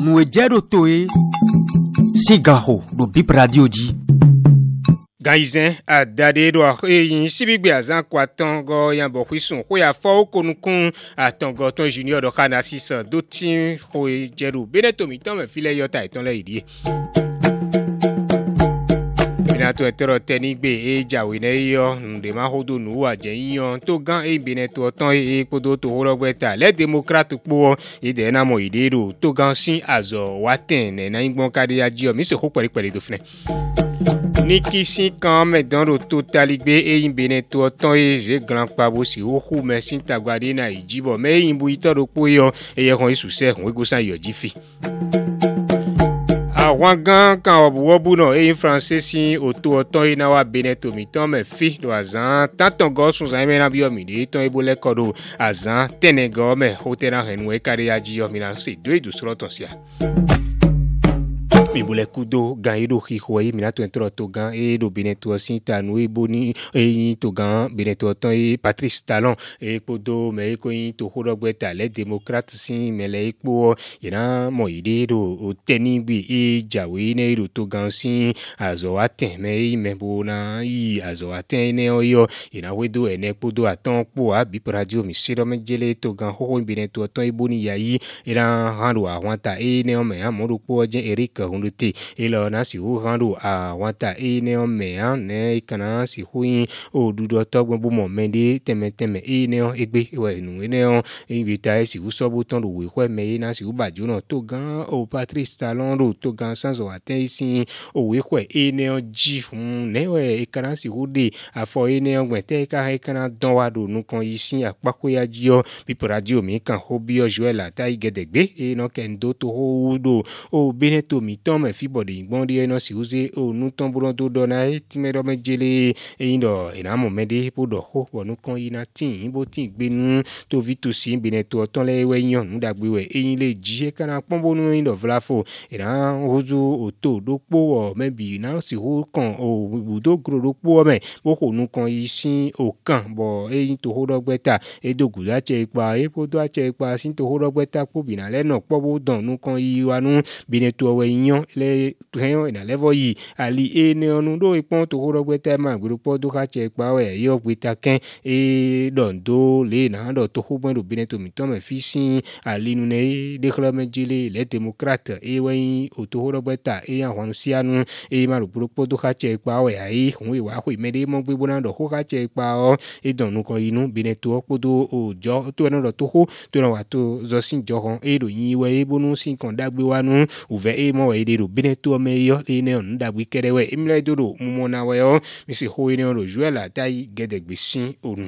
nous ejero toe sigaho do bip radio di Gaizen a dade do yin sibigbe azan kwa tongo yan bo kwisun ko ya fo okonukun atongo ton junior do kana 6 do tin ko jeru beneto mi ton me file yota iton le idi Binato etero tenigbe ejawe ne yo nde ma hodo nu aje yan to gan e beneto ton e podo to horogbeta le democrate po e de na mo idero to gan sin azo waten na ingbon kade aji o mi se ko pere do fne Niki si kan me dans le totaligbe e imbene to ton e je grand pabo si o hu me sin tagwade na ijibo me imbu itoro po yo e ye kon isuse hun ego san yo jifi Àwọn gan kan obuwobu no e français si oto oton ina wa beneto mi ton me fi do azan tanton go sun san me na bi o mi de ton ebo le kodo azan tenego me hotera henu e kare aji o mi na se do edu soro ton sia Mi bole kudo gan edo hihoye minato entro to gan edo beneto sinta no eboni e to gan beneto ton e Patrice Talon e podo me ko yin to horogbeta le démocrate sin mele epo ina mo ide do tenigbi e jawe ne edo to gan sin azo aten me bo na i azo aten ne oyo ina wedo ene podo aton po abi radio mi siro me jele to gan ho beneto ton eboni yayi ina hando awanta e ne o me amodo po je Eric Te ilo na si hu rando a wata e ne o me an ne kana si hu yin o dudo to gbon mo mende teme e ne o egbe we nu ne o invita e si hu so bo ton do we hwe me na si hu baju no to gan o Patrice Talon do to gan sans o aten isi o we hwe e ne o ji hun ne we e kana si hu de afo e ne o gbete ka he kana don wa do nu kon isi apako ya ji o bi radio mi kan hobi o Joel ata igedegbe e no kendo to ho do o beneto mi me fibodi igbondi eno si uze o nu tomburo do dona e timero mejele e indo enamo mede podo ho wonu kan ina tin bo tin gbenu to vitu si beneto oton le we yan nu dagbe we eyin le ji e kana pombo nu indo vlafo era ozu oto do po o mebi na si ho kan o budo gro do po me bo ko nu kan isin o kan bo eyin to ho dogbeta e dogu la che ipa e podo a che ipa sin to ho dogbeta po bina le no po bo don nu kan yi wanu beneto we yan le tuhenyo ina level yi ali e ne onu do ipon to horogbeta ma grupo do ka che pa we yo gbita ken e dondo le na do to ho bon do beneto mi to me fisin ali nu ne de klame jile le democrate e we o to horogbeta e ya hwanu sianu e ma grupo do ka che pa we ai hun we wa ho mede mo gbe bona do ho ka che pa o e donu ko inu beneto podo o jo to no do to ho to no wa to zo sin jo hon e do yin we e bonu sin kan dagbe wanu uve e mo we de do beneto me yo le ne on dagbe kere we imle do do mo na we o mi se ho ne o Joel atai gedegbe sin onu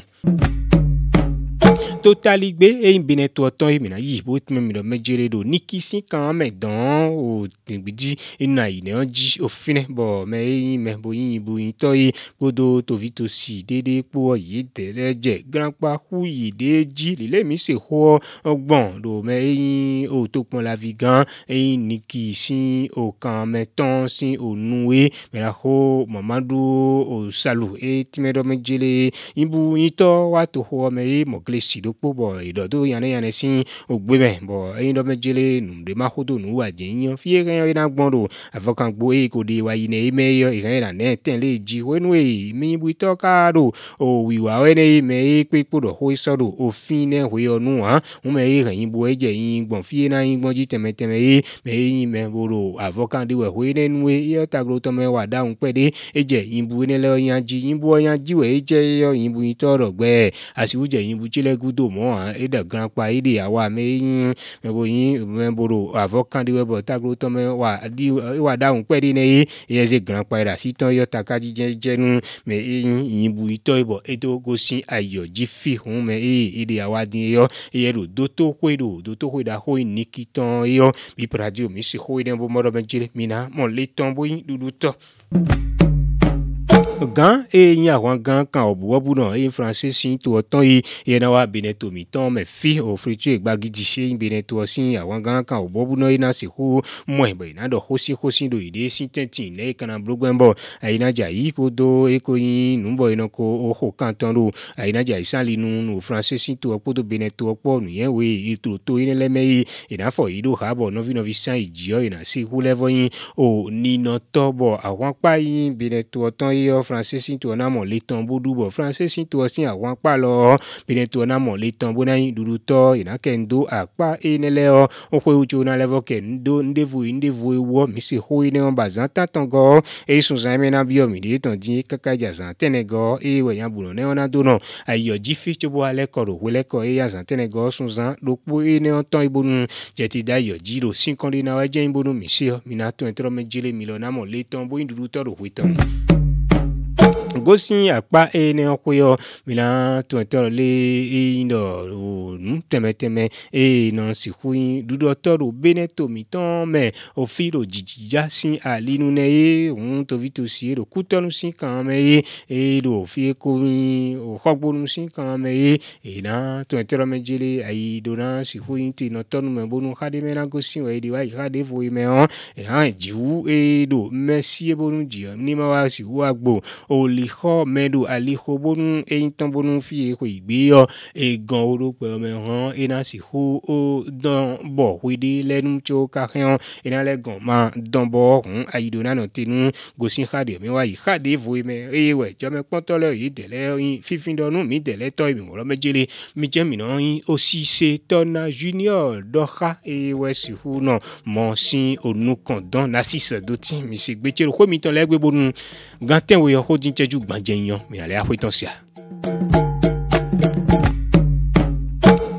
Totaligbe e beneto ton e mina yi bo me mi do mejere do nikisi kan me don o tingbidi ina ine onji o fine bo me bo yin bu yin to yi podo to vito si dede po yi teleje grandpa hu yi de ji le mi se ho ogbon do me yin o to pon la vigan e nikisi o kan me ton si o nuwe me la ho mamadu o salu e timedo mejele imbu yin to wa to ho me mo glesi do bo idodo yane sin ogbebe bo eyin do mejele numde ma hodo nu wa jinyan fie kan ina gbonro avokan gbo e ko de wa ine me yo ikan ina ne ten le ji wenu e mi bu to ka do o wiwa we ne me e pe podo ho isodo ofin ne we onu han o me e kan yin bo eje yin gbon fie na yin gbon ji teme e me yin me boro avokan de we ne nu e yo tagro to me wa daun pe de eje yin bu ne le yan ji we eje yo yin bu yin to rogbe asiwuje yin bu chile gudo mo e da grandpa ide awa me yin me bo yin me boro avokan de we bo tagro to me wa di wa daun pe de ne e ze grandpa ra si ton yo takaji jenu me yin bu ito ibo edo go sin ayo ji fi hun me ide awa din yo e do to hwe da ho ni kiton yo bi radio mi se ho ide bo mo do me jire mina mo le ton bo yin dudu to gan yin àwọn gan kan obuwobu náà yin français sin to ton yi yen na wa beneto mi ton me fi o fritu egbagidi se yin beneto sin àwọn gan kan obuwobu náà ina se ko mo ebe na do hosi do ide sin tentin ne kana blogbenbo ayina ja yi podo eko yin numbo ina ko o kan ton do ayina ja isali nu français sin to podo beneto po nu yen we ito to yin le meyi ina fo yi do habo novi san ijio ina se hu level yin o ni no tobo àwọn pa yin beneto ton yi français sin to na mo le ton bodu bo français sin to sin àwọn pa lo beneto na mo le ton bo na yin dudu to ina kendo apa enele o pe ujo na level kendo ndevu wo mi se ho ine on bazan tatango e sun san me na bio mi de ton din kaka jazan tenego e we yan bulo ne ona do no ayo ji fi to bo ale ko ro wele ko e yazan tenego sun san do po ine on ton ibonu je ti da yo ji ro 5 na wa je ibonu mi se mi na to entro mejele mi lo na mo le ton bo yin dudu to ro witan gosin apa ene okoyo mina to etoro le indo nu temeteme no sihuin dudo toro beneto miton me o filo jijija sin alinu ne un to vito si ro kutonu sin kan me do fi ko mi o hogbonu sin kan me na to etoro mejele ai dona sihuin ti no tonu me bonu hade me na gosin we di wa hade vo me on na jiu do merci bonu ji ni ma wa si wa gbo o liho medu aliho bonu ton bonu fi ko igbe yo gan orope me han ina si hu o don bo widi lenu cho ka han ina le gan ma don bo ayidona no tinu gosin khade me wa yi khade vo me we jo me ponto le yi dele yin fifin donu mi dele to ibi mo mejele mi je mi no yin o si se tona junior doha we si hu no mo sin onu kan don na 6 doti mi se gbe chero ko mi ton le gbe bonu ganten we ho din cheju gbanje yan mi ale afitan sia